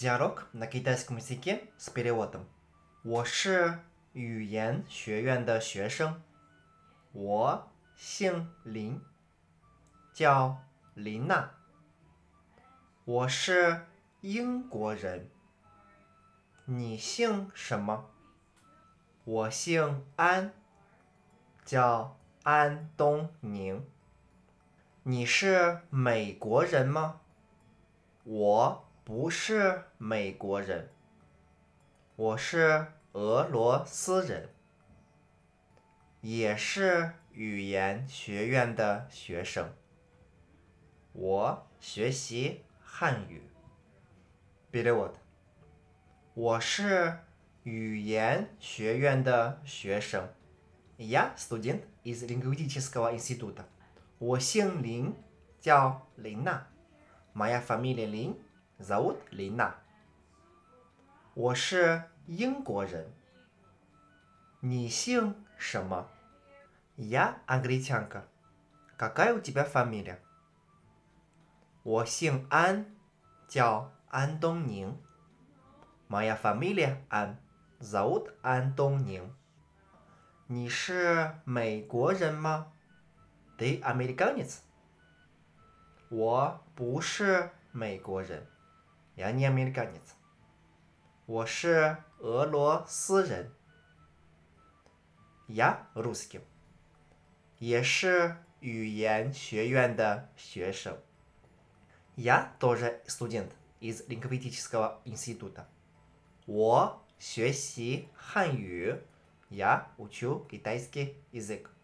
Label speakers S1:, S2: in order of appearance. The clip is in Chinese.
S1: Диалог на китайском языке с переводом. 我是语言学院的学生，我姓林，叫琳娜。我是英国人，你姓什么？我姓安，叫安东宁。你是美国人吗？我不是美国人，我是俄罗斯人，也是语言学院的学生。我学习汉语。Перевод. 我是语言学院的学生。Я студент из лингвистического института. 我姓林，叫琳娜。Моя фамилия Лин, зовут Лина. 我是英国人。你姓什么？ Я англичанка. Какая у тебя фамилия? 我姓安，叫安东宁。Моя фамилия Ан, зовут安东宁。你是美国人吗？ Ты американец? 我不是美国人。Я не американец. 我是俄罗斯人。Я русский. 也是语言学院的学生。Я тоже студент из лингвистического института. 我学习汉语。Я учу китайский язык.